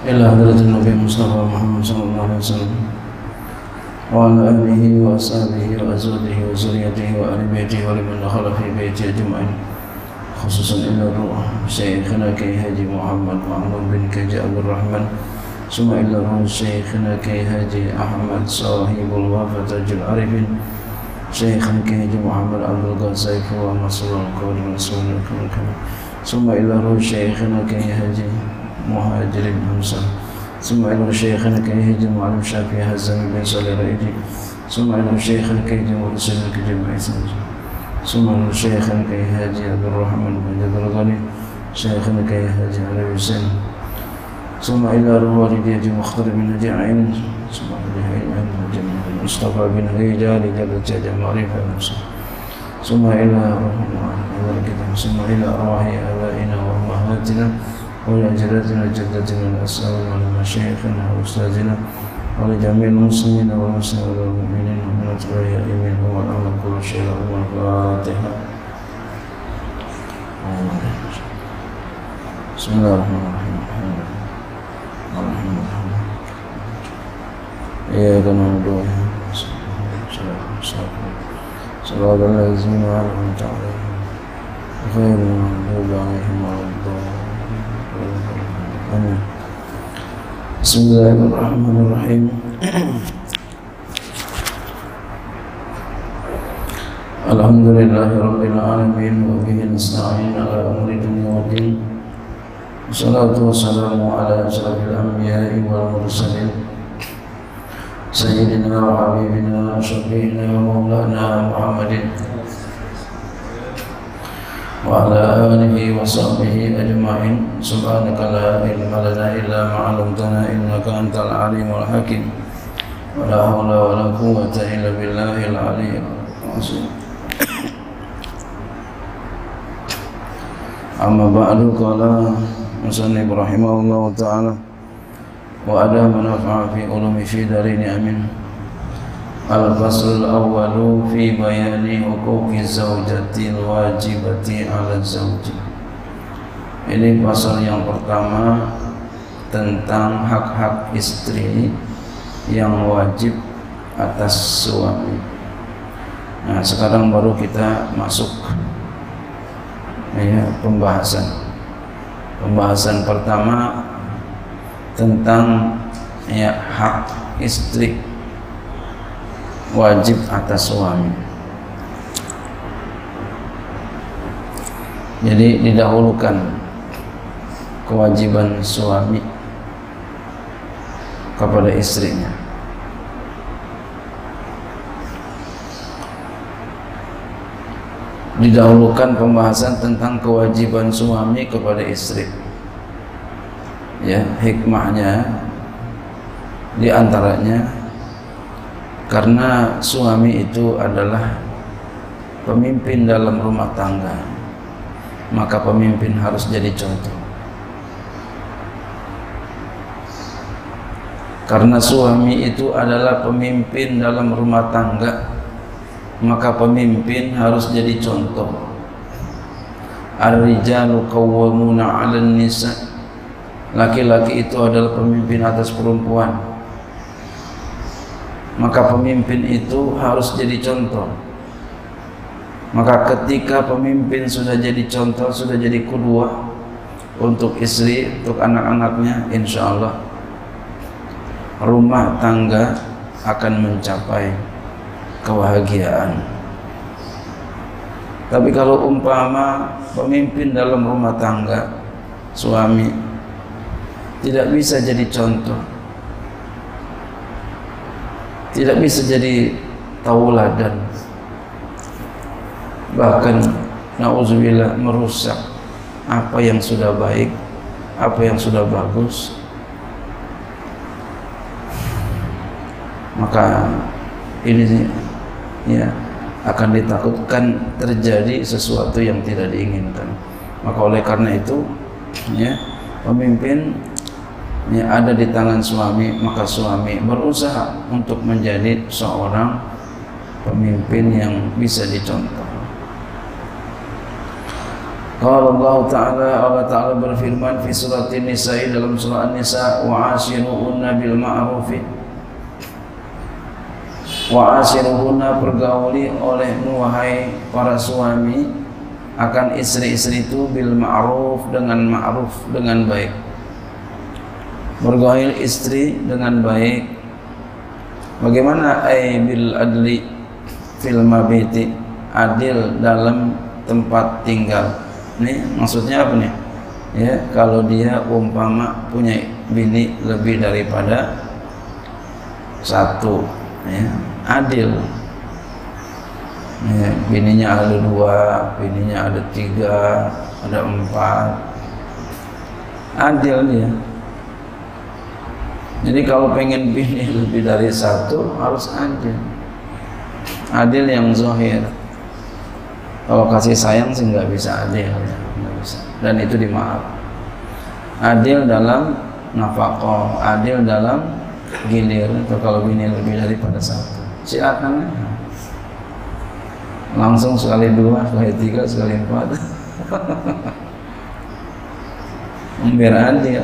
إلى حضرة النبي مصطفى محمد صلى الله عليه وسلم وعلى آله وأصحابه وأزواجه وذريته وآل بيته ولمن دخل في بيته أجمعين، خصوصا إلى الروح شيخنا كي هاجي محمد معلوم بن كجي عبد الرحمن، ثم إلى الروح شيخنا كي هاجي أحمد صاحب الوفاة تاج العارفين، شيخنا كي هاجي محمد عبد القاسم ومصر القول رسول الله، ثم إلى الروح شيخنا كي هاجي مهاجر حمزة، ثم إلى شيخنا كي هاجي معلم شافعي هزام بن صالح الرائدي، ثم إلى شيخنا كي هاجي مرسل كجمع إسلام، ثم إلى شيخنا كي هاجي عبد الرحمن بن جد الغني، شيخنا كي هاجي علي حسين، ثم إلى والدي هاجي مختار بن هاجي عين، ثم إلى هاجي مصطفى بن هاجي جل جل معرفة المصطفى، ثم إلى ثم إلى أرواح آبائنا وأمهاتنا ولأجدادنا وجدتنا الأسئلة ولمشايخنا وأستاذنا ولجميع المسلمين والمسلمين والمؤمنين ومن أتباع منهم والأمر كل شيء لهم الفاتحة. بسم الله الرحمن الرحيم. إياك نعبد وإياك نستعين صراط الذين أنعمت عليهم غير المغضوب عليهم ولا الضالين. آمين. بسم الله الرحمن الرحيم. الحمد لله رب العالمين وبه نستعين على أمور الدنيا والدين، والصلاة والسلام على أشرف الأنبياء والمرسلين سيدنا وحبيبنا وشفيعنا ومولانا محمد وعلى آله وصحبه أجمعين. سبحانك لا علم لنا إلا ما علمتنا إنك أنت العليم الحكيم، ولا حول ولا قوة إلا بالله العلي العظيم. أما بعد، قال المصنف رحمه الله تعالى: وأدام نفع في علوم في دارين آمين. الفصل الأول في بيان حقوق الزوجة الواجبة على الزوج. Ini pasal yang pertama tentang hak-hak istri yang wajib atas suami. Nah, sekarang baru kita masuk pembahasan pertama tentang hak istri wajib atas suami. Jadi didahulukan kewajiban suami kepada istrinya. Didahulukan pembahasan tentang kewajiban suami kepada istri. Ya, hikmahnya di antaranya karena suami itu adalah pemimpin dalam rumah tangga, maka pemimpin harus jadi contoh. Karena suami itu adalah pemimpin dalam rumah tangga, maka pemimpin harus jadi contoh. Ar-rijalu qawwamuna 'alan nisa. Laki-laki itu adalah pemimpin atas perempuan, maka pemimpin itu harus jadi contoh. Maka ketika pemimpin sudah jadi contoh, sudah jadi qudwah untuk istri, untuk anak-anaknya, insya Allah rumah tangga akan mencapai kebahagiaan. Tapi kalau umpama pemimpin dalam rumah tangga, suami tidak bisa jadi contoh, tidak bisa jadi tauladan, bahkan na'udzubillah merusak apa yang sudah baik, apa yang sudah bagus, maka ini akan ditakutkan terjadi sesuatu yang tidak diinginkan. Maka oleh karena itu pemimpin ada di tangan suami, maka suami berusaha untuk menjadi seorang pemimpin yang bisa dicontoh. Qala Allah Ta'ala, Allah Ta'ala berfirman fi surat An-Nisa, dalam surah An-Nisa, wa ashiruhunna bil ma'rufi, wa ashiruhunna, pergauli olehmu wahai para suami akan istri-istri itu bil ma'ruf, dengan ma'ruf, dengan baik. Bergaul istri dengan baik. Bagaimana? Ay bil adli fil mabiti, adil dalam tempat tinggal. Ini maksudnya apa nih? Ya, kalau dia umpama punya bini lebih daripada satu, ya, adil. Ya, bininya ada 2, bininya ada 3, ada 4, adil dia. Jadi kalau pengen bini lebih dari satu harus adil, adil yang zahir. Kalau kasih sayang sih nggak bisa adil, nggak bisa. Dan itu dimaaf. Adil dalam nafkah, adil dalam gilir. Atau kalau bini lebih daripada satu, silakan. Langsung sekali 2, sekali 3, sekali 4. Biar adil.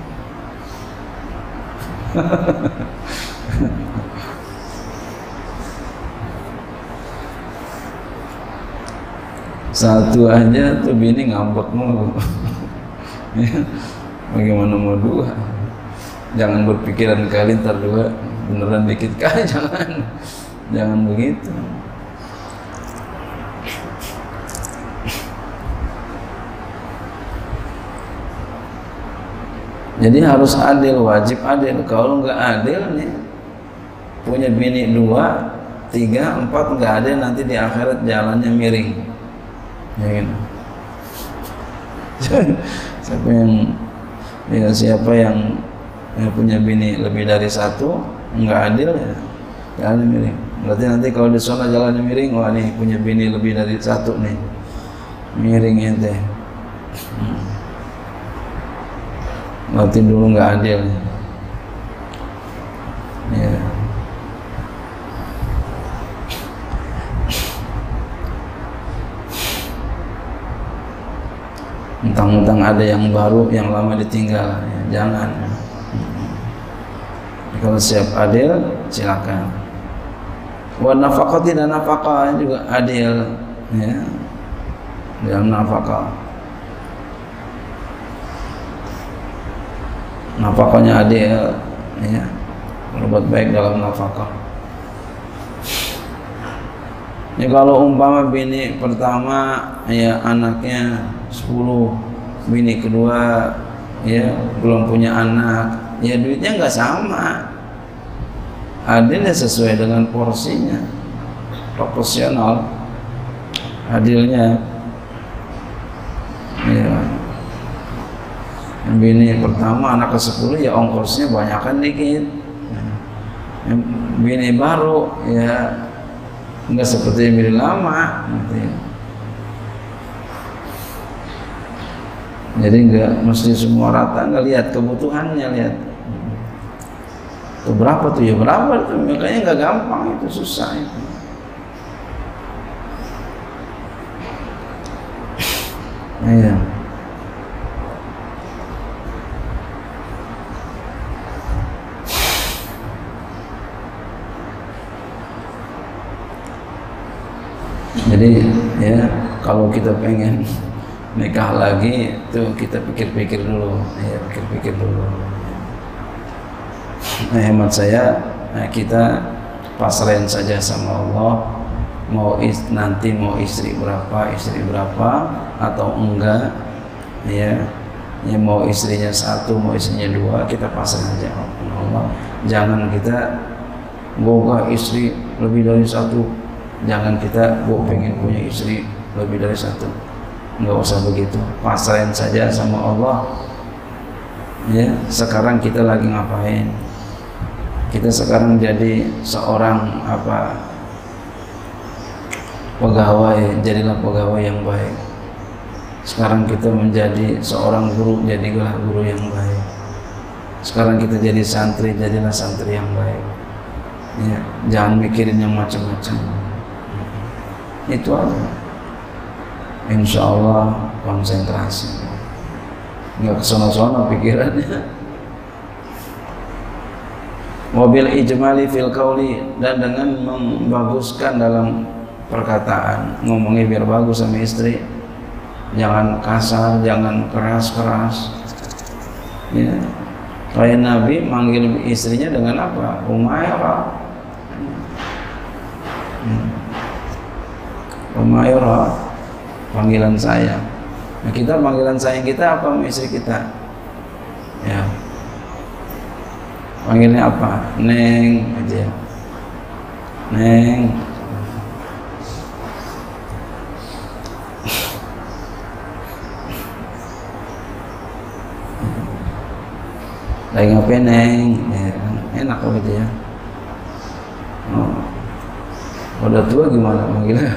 Satu aja tuh bini ngambek mulu. Bagaimana mau 2? Jangan berpikiran kali ntar 2 beneran dikit kali, jangan begitu. Jadi harus adil, wajib adil. Kalau nggak adil nih, punya bini 2, 3, 4 nggak adil, nanti di akhirat jalannya miring. Ya gitu. Siapa yang punya bini lebih dari satu nggak adil, ya jalannya miring. Berarti nanti kalau di sana jalannya miring, wah nih punya bini lebih dari satu nih, miring ente. Berarti dulu nggak adil. Ya. Mentang-mentang ada yang baru, yang lama ditinggal, ya, jangan. Kalau siap adil, silakan. Wa nafaqati, dan nafkah juga adil, ya, dalam nafkah. Nafkahnya adil, ya, berbuat baik dalam nafkah. Ya, kalau umpama bini pertama ya anaknya 10, bini kedua ya belum punya anak, ya duitnya nggak sama. Adilnya sesuai dengan porsinya, proporsional adilnya. Ya, bini pertama anak ke-10 ya ongkosnya banyakan dikit. Bini baru ya enggak seperti bini lama gitu ya. Jadi enggak mesti semua rata, enggak, lihat kebutuhannya, lihat tuh berapa tuh, ya berapa tuh, makanya enggak gampang, itu susah itu. Iya. Jadi ya kalau kita pengen nikah lagi tuh kita pikir-pikir dulu, ya pikir-pikir dulu. Nah, hemat saya, kita pasrahin saja sama Allah. Nanti mau istri berapa atau enggak, ya mau istrinya 1, mau istrinya 2, kita pasrahin aja sama Allah. Jangan kita boga istri lebih dari 1. Jangan kita pengen punya istri lebih dari 1. Nggak usah begitu, pasrahin saja sama Allah. Ya, sekarang kita lagi ngapain? Kita sekarang jadi seorang pegawai, jadilah pegawai yang baik. Sekarang kita menjadi seorang guru, jadilah guru yang baik. Sekarang kita jadi santri, jadilah santri yang baik. Ya, jangan mikirin yang macam-macam. Itu aja. Insya Allah konsentrasi, nggak kesono-sono pikirannya. Wabil ijmali fil qauli, dan dengan membaguskan dalam perkataan, ngomongnya biar bagus sama istri, jangan kasar, jangan keras-keras. Ya. Kayak Nabi manggil istrinya dengan apa? Umairah. Umairah, panggilan sayang. Nah, kita panggilan sayang kita apa sama istri kita? Ya. Panggilnya apa? Neng aja. Neng. Lagi ngapain Neng? Ya, enak gitu ya. Oh. Udah tua gimana manggilnya?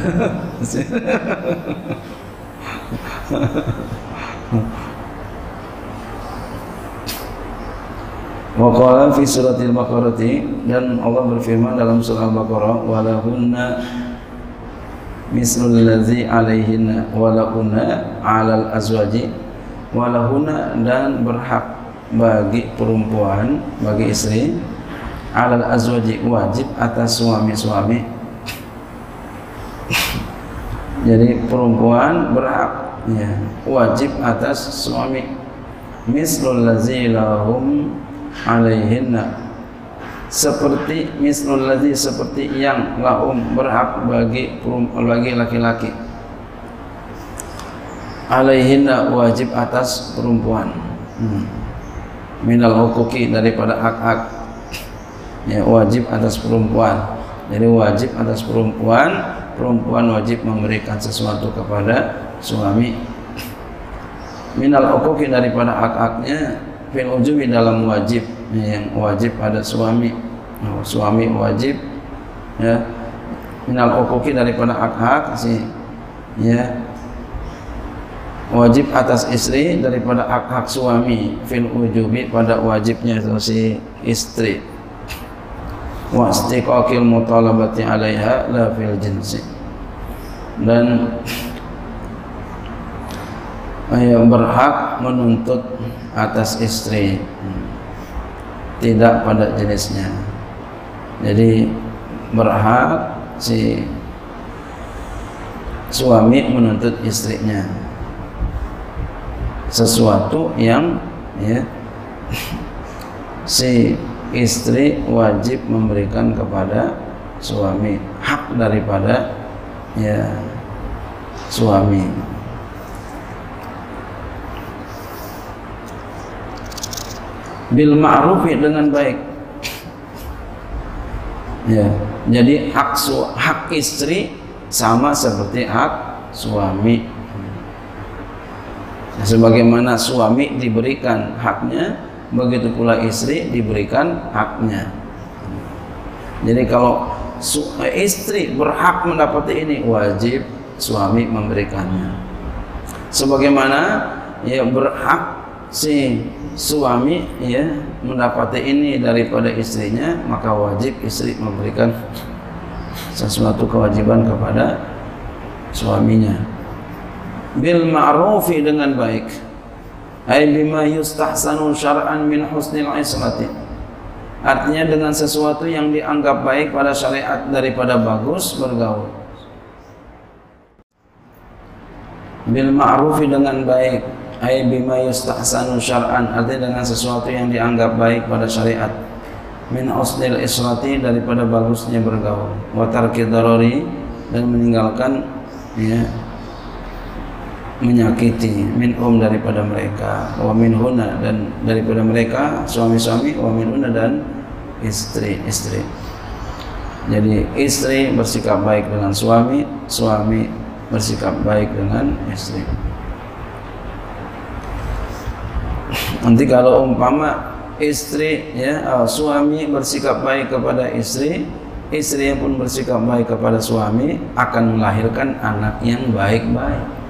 Wa qala fi suratil Baqarah, dan Allah berfirman dalam surah Al-Baqarah, walahunna mislul ladzi alaihinna walahunna 'alal azwaji, walahunna, dan berhak bagi perempuan, bagi istri, 'alal azwaji, wajib atas suami-suami. Jadi perempuan berhak, ya, wajib atas suami, mislul ladzi lahum alaihinna, seperti mislul ladzi, seperti yang lahum berhak bagi laki-laki, alaihinna, wajib atas perempuan, minal huquqi, daripada hak-hak, ya, wajib atas perempuan. Jadi wajib atas perempuan, perempuan wajib memberikan sesuatu kepada suami, minal huquqi, daripada hak-haknya, fil ujubi, dalam wajib, yang wajib pada suami. Suami wajib, ya, minal huquqi, daripada hak-hak si, ya, wajib atas istri daripada hak-hak suami, fil ujubi, pada wajibnya itu si istri, wa istiqaqil mutalabati 'alaiha la fil jinsi, dan berhak menuntut atas istri, tidak pada jenisnya. Jadi berhak si suami menuntut istrinya sesuatu yang, ya, si istri wajib memberikan kepada suami, hak daripada, ya, suami. Bil ma'rufi, dengan baik, ya. Jadi hak istri sama seperti hak suami. Nah, sebagaimana suami diberikan haknya, begitu pula istri diberikan haknya. Jadi kalau istri berhak mendapati ini, wajib suami memberikannya. Sebagaimana, ya, berhak si suami, ya, mendapati ini daripada istrinya, maka wajib istri memberikan sesuatu kewajiban kepada suaminya. Bil ma'rufi, dengan baik, ay bima yustahsanu syar'an min husnil ismati, artinya dengan sesuatu yang dianggap baik pada syariat daripada bagus bergaul. Bil ma'rufi, dengan baik, ay bima yustahsanu syar'an, artinya dengan sesuatu yang dianggap baik pada syariat, min husnil ismati, daripada bagusnya bergaul, wa tarki darari, dan meninggalkan, ya, menyakiti, minhum, daripada mereka, wa minhuna, dan daripada mereka suami-suami, wa minhuna, dan istri-istri. Jadi istri bersikap baik dengan suami, suami bersikap baik dengan istri. Nanti kalau umpama istri, ya, suami bersikap baik kepada istri, istri yang pun bersikap baik kepada suami, akan melahirkan anak yang baik-baik.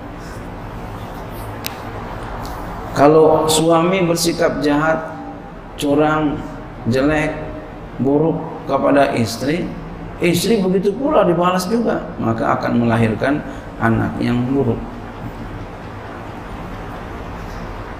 Kalau suami bersikap jahat, curang, jelek, buruk kepada istri, istri begitu pula dibalas juga, maka akan melahirkan anak yang buruk.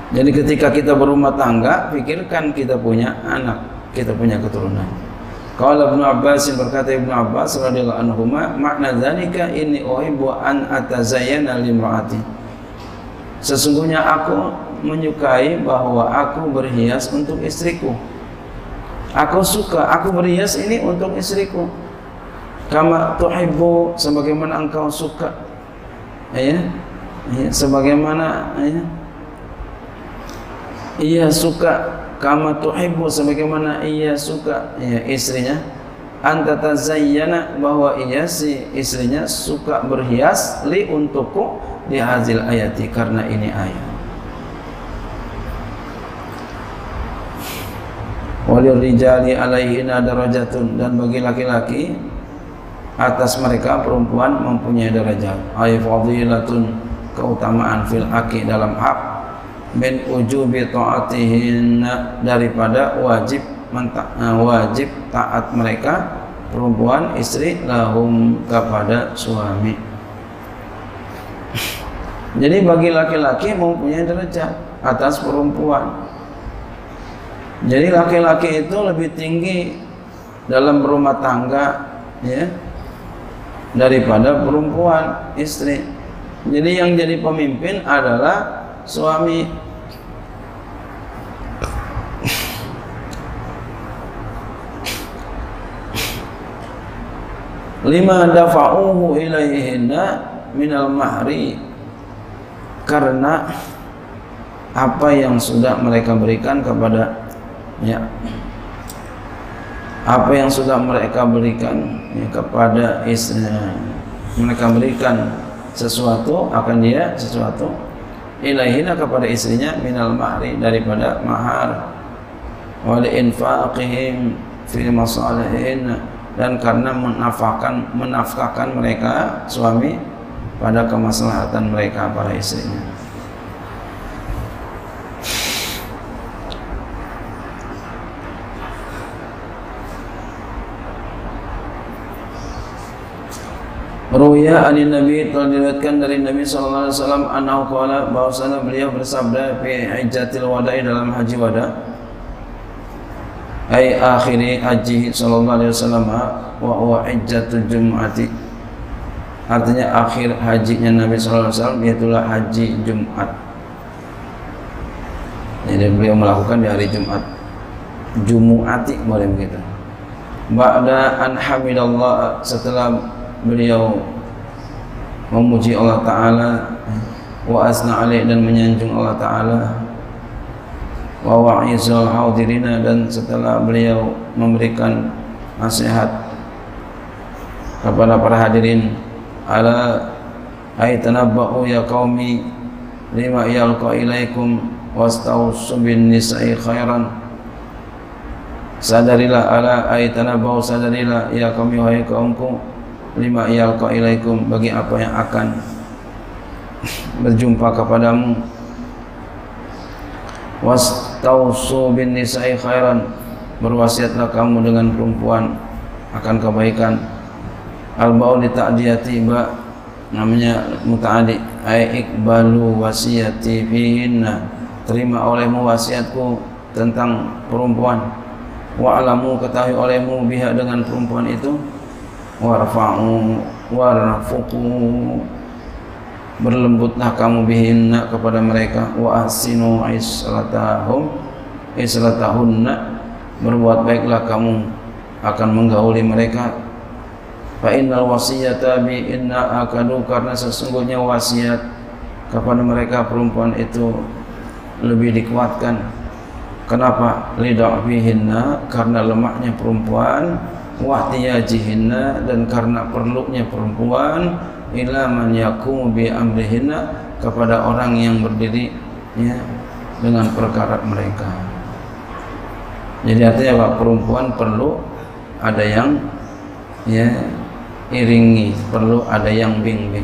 Jadi ketika kita berumah tangga, pikirkan kita punya anak, kita punya keturunan. Qala Ibnu Abbas, berkata Ibnu Abbas radhiyallahu anhu, makna dzalika inni uhibbu an atazayyana limraati. Sesungguhnya aku menyukai bahwa aku berhias untuk istriku. Aku suka, aku berhias ini untuk istriku. Kama tuhibbu, sebagaimana engkau suka. Ya. Sebagaimana ia suka, kama tuhibbu, sebagaimana ia suka, ya, istrinya, anta tazayyana, bahwa ia si istrinya suka berhias, li untukku, di hazil ayati, karena ini ayat. Walil rijali alaihina darajatun, dan bagi laki-laki atas mereka perempuan mempunyai derajat. Ay fadilatun, keutamaan fil haqi, dalam hak, min ujubi ta'atihin, daripada wajib taat mereka perempuan istri, lahum, kepada suami. Jadi bagi laki-laki mempunyai derajat atas perempuan. Jadi laki-laki itu lebih tinggi dalam berumah tangga, ya, daripada perempuan istri. Jadi yang jadi pemimpin adalah suami. Lima dafa'uhu ilaihinna minal mahri, karena apa yang sudah mereka berikan kepada, ya, apa yang sudah mereka berikan, ya, kepada istrinya. Mereka berikan sesuatu, akan dia sesuatu, ilaihina, kepada istrinya, minal mahri, daripada mahar, wal infaqihim fi masalihin, dan karena menafkahkan mereka suami pada kemaslahatan mereka para istrinya. Ruya anin Nabi, telah diriwayatkan dari Nabi sallallahu alaihi wasallam, annahu qala, bahwasanya beliau bersabda, fi hajjatil wada'i, dalam haji wada, ai akhiri haji sallallahu alaihi wasallam, wa huwa hajjatul jum'ati, artinya akhir hajinya Nabi sallallahu alaihi wasallam, yaitulah haji Jumat. Jadi beliau melakukan di hari Jumat, Jumu'ati, boleh begitu. Ba'da an hamidallah, setelah beliau memuji Allah Ta'ala, wa asna alaih, dan menyanjung Allah Ta'ala, wa wa'izal haudirina, dan setelah beliau memberikan nasihat kepada para hadirin, ala aitanabba'u ya qaumi lima yalqa ilaikum wastausu bin nisa'i khairan, sadarilah, ala aitanabba'u, sadarilah, ya qaumi, wahai kaumku, lima yalqa ilaikum, bagi apa yang akan berjumpa kepadamu, wastausu bin nisa'i khairan, berwasiatlah kamu dengan perempuan akan kebaikan. Al-ba'u li ta'diyati, ba namanya muta'adi, ay ikbalu wasiyati fihinna, terima olehmu wasiatku tentang perempuan, wa'alamu, ketahui olehmu, biha, dengan perempuan itu, warfa'u warfuqu, berlembutlah kamu bihinna, kepada mereka, wa ahsinu islatahunna, berbuat baiklah kamu akan menggauli mereka. Fa innal wasiyata bi inna akadu, karena sesungguhnya wasiat kepada mereka perempuan itu lebih dikuatkan. Kenapa? Lida'fihinna, karena lemahnya perempuan, wahtiyajihinna, dan karena perlunya perempuan, ila man yaqumu bi amrihinna, kepada orang yang berdiri, ya, dengan perkara mereka. Jadi artinya bahwa perempuan perlu ada yang, ya, iringi, perlu ada yang bimbing.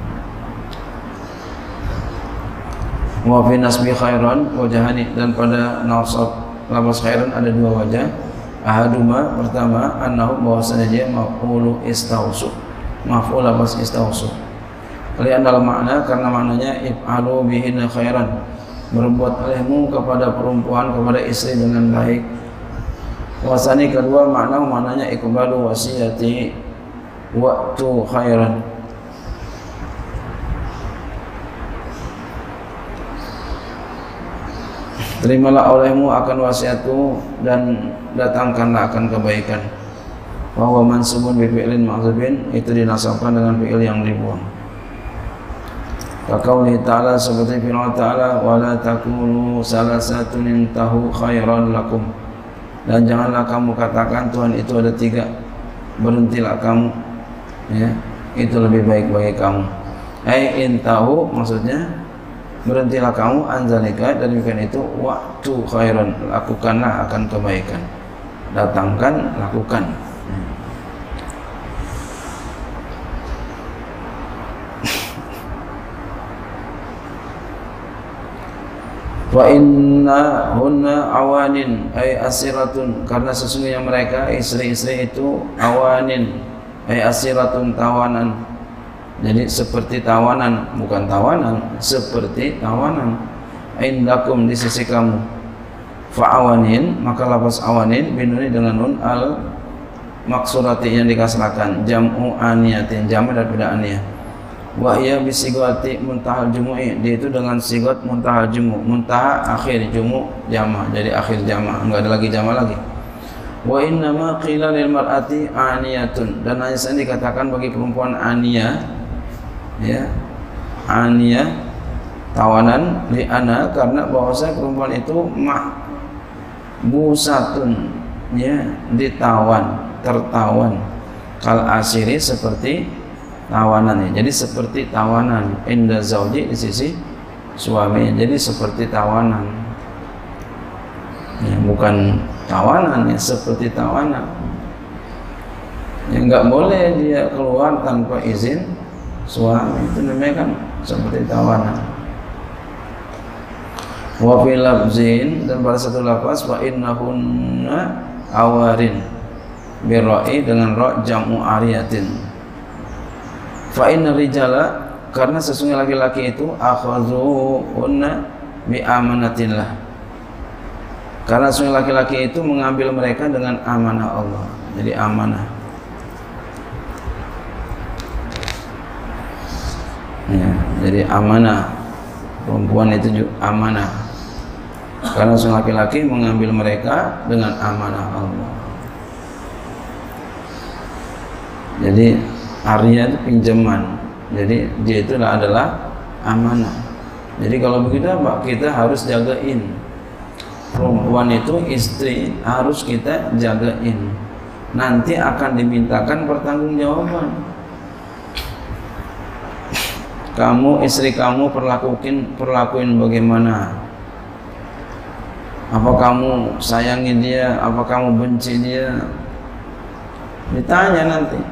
Wa fi nasbi khairan wajhani, dan pada nasab lafaz khairan ada dua wajah. Ahaduma, pertama, annahu, bahwasanya dia maf'ulu istausu, maf'ul lafaz istausu. Li'anna al-makna, karena maknanya if'alu bihinna khairan, berbuat olehmu kepada perempuan, kepada istri dengan baik. Wasani kedua maknanya iqbalu wasiyati waktu khairan. Terimalah olehmu akan wasiatku dan datangkanlah akan kebaikan. Bahwa mansubun bi fi'lin mahdzubin, itu dinasabkan dengan fi'il yang dibuang. Kaqaulihi ta'ala, seperti firman ta'ala, wala takunu salasatun intahu khairan lakum. Dan janganlah kamu katakan Tuhan itu ada 3, berhentilah kamu, ya, itu lebih baik bagi kamu. Ai intahu maksudnya berhentilah kamu anzalika, dan demikian itu waktu khairan, lakukanlah akan kebaikan, datangkan, lakukan. Wa inna hunna awanin ay asiratun, karena sesungguhnya mereka istri-istri itu awanin ay asiratun, tawanan. Jadi seperti tawanan, bukan tawanan, seperti tawanan. Indakum, di sisi kamu. Fa'awanin, maka lafaz awanin binuni dengan nun al maksurati yang dikasrakan, jam'u aniyatin, jamak daripada aniyah. Wa iya bisigati muntahal jumu'i, dia itu dengan sigat muntahal jumu', muntaha akhir, jumu' jamak, jadi akhir jamak, enggak ada lagi jamak lagi. Wa innama qila lil mar'ati aniyatun, dan hanya saja dikatakan bagi perempuan aniyah, ya, aniyah tawanan, li'ana, karena bahwasanya perempuan itu mahbusatun, ya, ditawan, tertawan, kal asiri, seperti tawanan, ya. Jadi seperti tawanan inda zauji, di sisi suami, jadi seperti tawanan, ya, bukan tawanan, ya, seperti tawanan, ya, nggak boleh dia keluar tanpa izin suami, itu namanya kan seperti tawanan. Wa fil lafzin, dan pada satu lafaz, wa innahunna awarin birra'i, dengan ra jam'u ariyatin. Fa inna rijala, karena sesungguhnya laki-laki itu akhazuhunna bi amanatillah, karena sesungguhnya laki-laki itu mengambil mereka dengan amanah Allah, jadi amanah, ya, jadi amanah. Perempuan itu juga amanah, karena sesungguhnya laki-laki mengambil mereka dengan amanah Allah. Jadi arya itu pinjaman, jadi dia itu adalah amanah. Jadi kalau begitu Pak, kita harus jagain perempuan itu, istri harus kita jagain, nanti akan dimintakan pertanggungjawaban. Kamu, istri kamu perlakuin bagaimana? Apa kamu sayangi dia? Apa kamu benci dia? Ditanya nanti.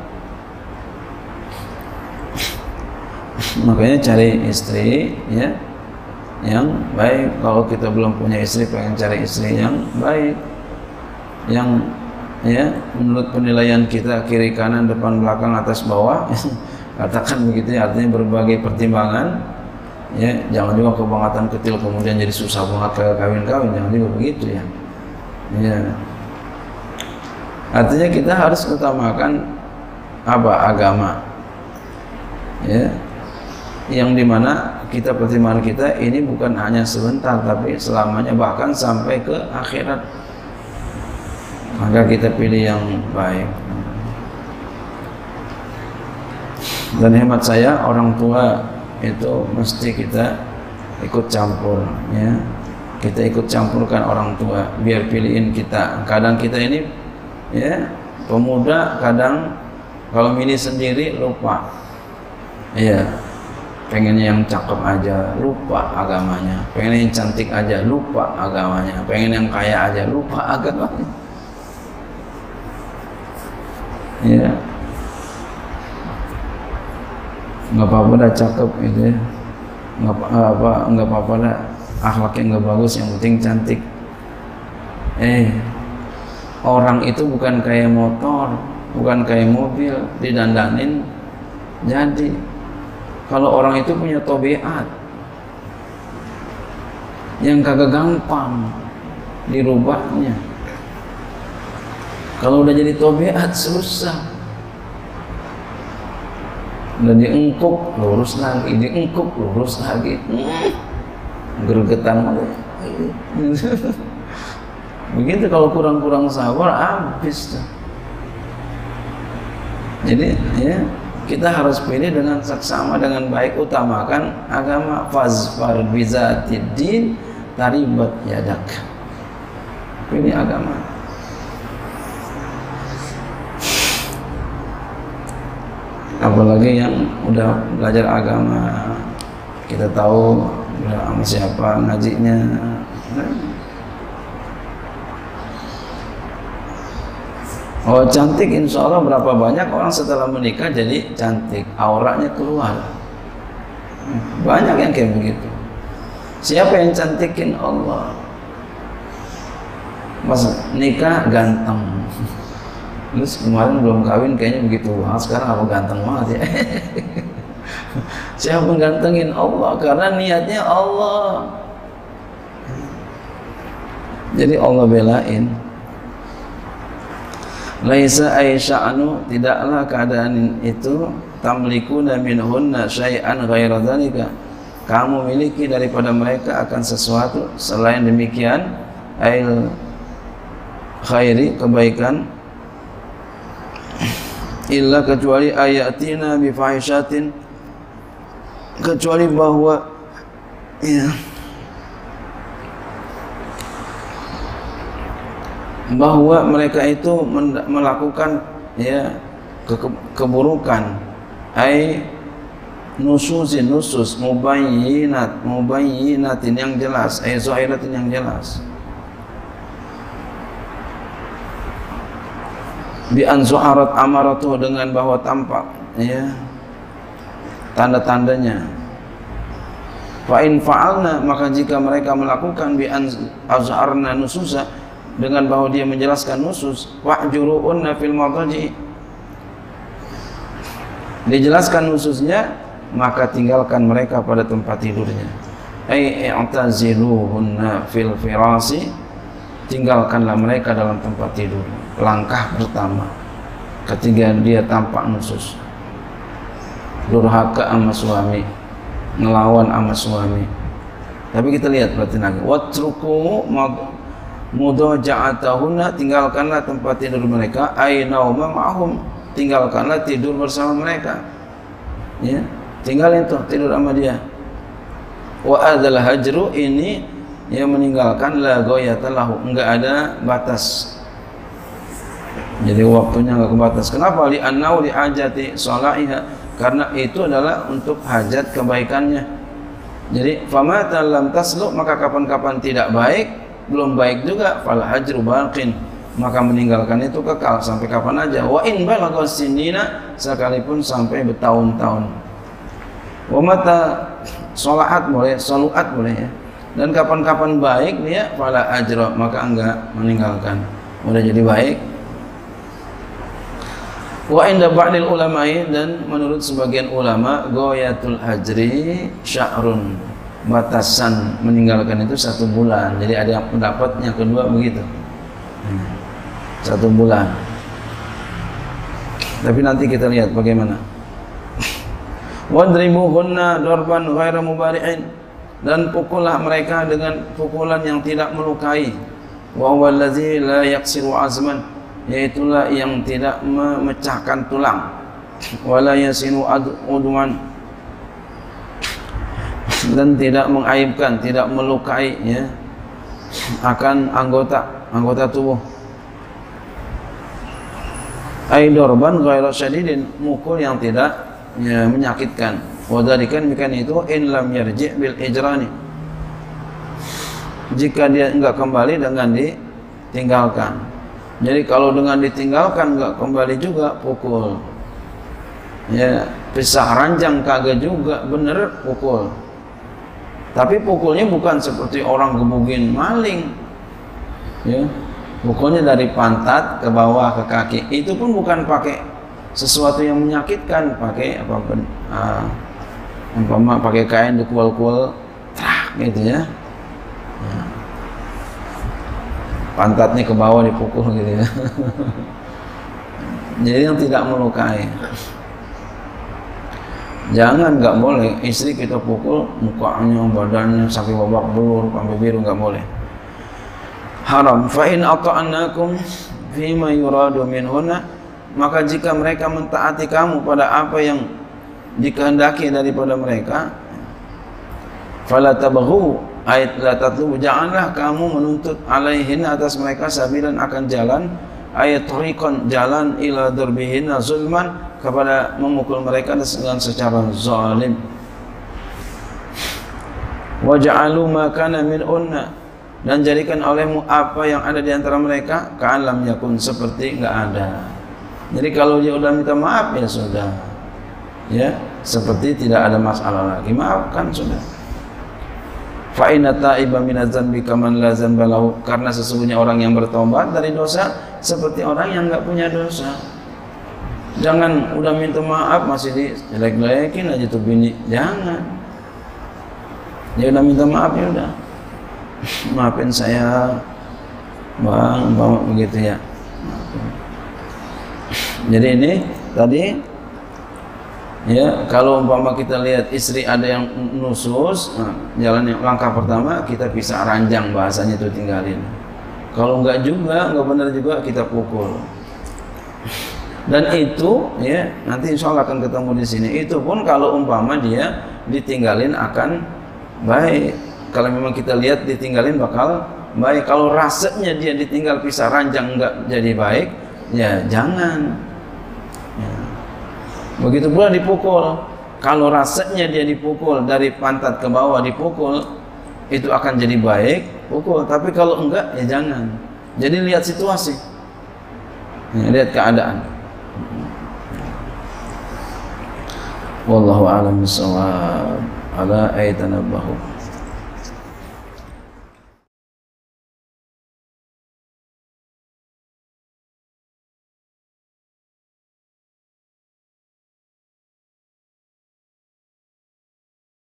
Makanya cari istri, ya, yang baik. Kalau kita belum punya istri, pengen cari istri yang baik, yang, ya, menurut penilaian kita kiri kanan depan belakang atas bawah, katakan begitu, ya, artinya berbagai pertimbangan, ya, jangan juga kebangetan kecil kemudian jadi susah banget kawin-kawin, jangan juga begitu, ya, ya. Artinya kita harus utamakan apa? Agama, ya, yang dimana kita, pertimbangan kita ini bukan hanya sebentar, tapi selamanya, bahkan sampai ke akhirat. Maka kita pilih yang baik. Dan hemat saya, orang tua itu mesti kita ikut campur, ya, kita ikut campurkan orang tua biar pilihin kita. Kadang kita ini, ya, pemuda, kadang kalau milih sendiri lupa, ya, pengennya yang cakep aja, lupa agamanya. Pengen yang cantik aja, lupa agamanya. Pengen yang kaya aja, lupa agamanya. Ya, nggak apa-apa dah cakep gitu, ya, nggak apa-apa dah akhlaknya nggak bagus, yang penting cantik. Orang itu bukan kayak motor, bukan kayak mobil, didandanin jadi. Kalau orang itu punya tabiat, yang kagak gampang dirubahnya. Kalau udah jadi tabiat susah. Udah diengkuk, lurus lagi, diengkuk, lurus lagi. Gergetan. Begitu kalau kurang-kurang sabar, habis tuh. Jadi ya, kita harus pilih dengan saksama, dengan baik, utamakan agama. Fazfar bizatiddin taribat yadak. Pilih agama. Apalagi yang udah belajar agama, kita tahu sama siapa ngajinya. Oh cantik, insya Allah berapa banyak orang setelah menikah jadi cantik, auranya keluar. Banyak yang kayak begitu. Siapa yang cantikin? Allah. Pas nikah ganteng. Terus kemarin belum kawin kayaknya begitu banget, sekarang apa ganteng banget ya. Siapa menggantengin? Allah, karena niatnya Allah. Jadi Allah belain. Laisa aisya'anu, tidaklah keadaan itu tamlikuna minhunna syai'an ghaira dzalika, kamu miliki daripada mereka akan sesuatu selain demikian, ail khairi, kebaikan, illa kecuali ayatina bifahishatin, kecuali bahwa ya, bahwa mereka itu melakukan ya keburukan, ai nususin, nusus mubayyinatin yang jelas, ai zahiratin yang jelas, bi an zuharat amaratuh, dengan bahwa tampak ya tanda-tandanya. Fa in fa'alna, maka jika mereka melakukan bi an azharna nususa, dengan bahwa dia menjelaskan nusus, wahjuruunna fil madaji, dijelaskan nususnya, maka tinggalkan mereka pada tempat tidurnya. Ai i'taziluhunna fil firasi, tinggalkanlah mereka dalam tempat tidur. Langkah pertama ketika dia tampak nusus, durhaka sama suami, ngelawan sama suami. Tapi kita lihat berarti lagi, watruku mudaja'atahunna, tinggalkanlah tempat tidur mereka, ai nauma ma'hum, tinggalkanlah tidur bersama mereka. Ya, tinggalin tuh tidur sama dia. Wa adzal hajru, ini yang meninggalkan la ghayata lahu, enggak ada batas. Jadi waktunya enggak kebatas. Kenapa? Li annau li hajati salaiha, karena itu adalah untuk hajat kebaikannya. Jadi famata lam taslu, maka kapan-kapan tidak baik, belum baik juga, fal hajru baqin, maka meninggalkan itu kekal sampai kapan aja. Wa in balagha sinina, sekalipun sampai bertahun-tahun. Wa mata salahat boleh, saluat boleh ya. Dan kapan-kapan baik dia, fala ajra, maka enggak meninggalkan. Udah jadi baik. Wa inda ba'dil ulama'i, dan menurut sebagian ulama, ghayatul hajri syahrun, batasan meninggalkan itu 1 bulan. Jadi ada yang pendapatnya kedua begitu, 1 bulan. Tapi nanti kita lihat bagaimana. Wadribuhunna darban ghaira mubari'in, dan pukullah mereka dengan pukulan yang tidak melukai. Wa huwa allazi la yaqsiru azman, yaitulah yang tidak memecahkan tulang. Wala yasinu udwan, dan tidak mengaibkan, tidak melukai ya akan anggota tubuh. Ai darban ghairu syadidin, mukul yang tidak ya menyakitkan. Wadalikan mikan itu in lam yarji' bil ijrani, jika dia enggak kembali dengan ditinggalkan. Jadi kalau dengan ditinggalkan enggak kembali juga, pukul. Ya, pisah ranjang kagak juga, bener pukul. Tapi pukulnya bukan seperti orang gebugin maling. Ya, pukulnya dari pantat ke bawah ke kaki. Itu pun bukan pakai sesuatu yang menyakitkan, pakai apa-apa. Umpama pakai kain dikual-kual, gitu ya. pantatnya ke bawah dipukul gitu ya. Jadi yang tidak melukai. Jangan, nggak boleh istri kita pukul mukanya, badannya sampai babak belur, sampai biru, nggak boleh. Haram. Fa in ata'annakum fima yuradu minhunna, maka jika mereka mentaati kamu pada apa yang dikehendaki daripada mereka, fala tabghu, ayat la tatlubu, janganlah kamu menuntut alaihin, atas mereka, sabilan, akan jalan, ayat tariqan, jalan, ila darbihinna zulman, kepada memukul mereka dengan secara zalim. Wa ja'alu ma kana min unna, dan jadikan olehmu apa yang ada di antara mereka ka'an lam yakun, seperti enggak ada. Jadi kalau dia udah minta maaf ya sudah, ya seperti tidak ada masalah lagi, maafkan sudah. Fa inna ta'iba minaz dzanbi kaman la dzanba lahu, karena sesungguhnya orang yang bertobat dari dosa seperti orang yang enggak punya dosa. Jangan udah minta maaf masih dijelek-jelekin aja tuh bini, jangan. Dia udah minta maaf ya udah, maafin saya bang, umpama begitu ya. Jadi ini tadi ya, kalau umpama kita lihat istri ada yang nusus, nah, jalan yang langkah pertama kita pisah ranjang, bahasanya itu tinggalin. Kalau enggak juga, enggak benar juga, kita pukul. Dan itu ya nanti insya Allah akan ketemu di sini. Itu pun kalau umpama dia ditinggalin akan baik. Kalau memang kita lihat ditinggalin bakal baik. Kalau rasanya dia ditinggal pisah ranjang enggak jadi baik, ya jangan. Ya. Begitu pula dipukul. Kalau rasanya dia dipukul dari pantat ke bawah dipukul, itu akan jadi baik, pukul. Tapi kalau enggak ya jangan. Jadi lihat situasi, ya, lihat keadaan. Wallahu a'lam bishawab. Ala aytanabbahu.